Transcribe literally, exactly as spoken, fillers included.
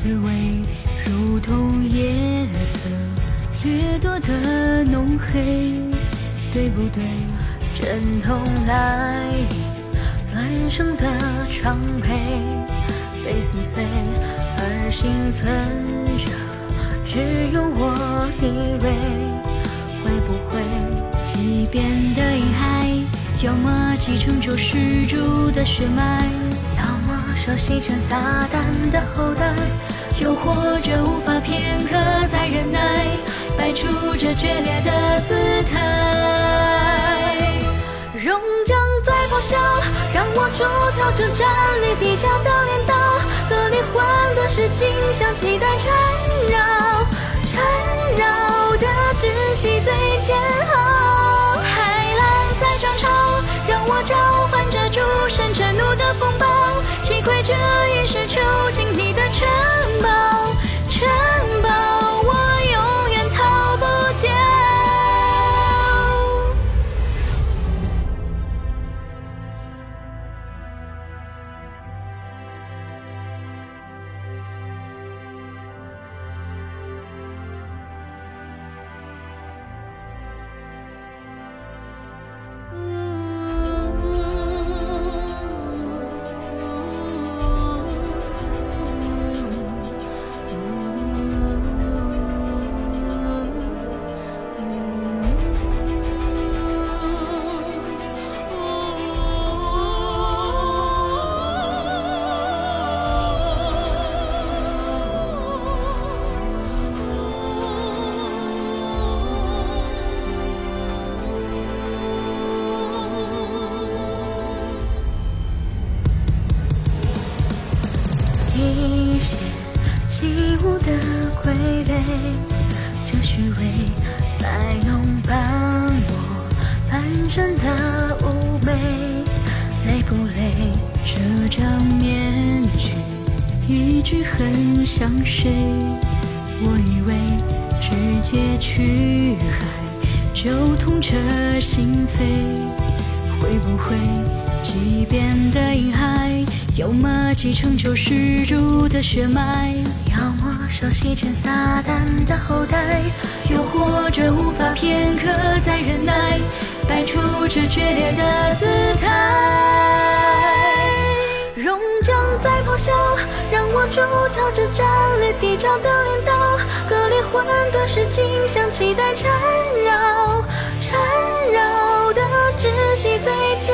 滋味，如同夜色掠夺的浓黑，对不对？阵痛来临，乱生的疮痍，被撕碎，而幸存者只有我一位。会不会即便的婴孩，要么继承救世主的血脉，要么受洗成撒旦的后代，又或者无法片刻再忍耐，摆出这决裂的姿态。熔浆在咆哮，让我筑桥这站立地壳的镰刀，隔离混沌世境，像期待缠绕缠绕的窒息最煎熬。海浪在涨潮，让我召唤着诸神震怒的风暴，击溃这一世囚禁你的城堡，城堡我永远逃不掉。一些起舞的傀儡，这虚伪来弄帮我半生的妩媚，累不累？这张面具一直很像谁？我以为直接去海就痛彻心扉，会不会即便的婴孩，要么继承救世主的血脉，要么受洗成撒旦的后代，又或者无法片刻再忍耐，摆出这决裂的姿态。熔浆在咆哮，让我筑桥这站立地壳的镰刀，隔离混沌世境，像期待缠绕缠绕的窒息最煎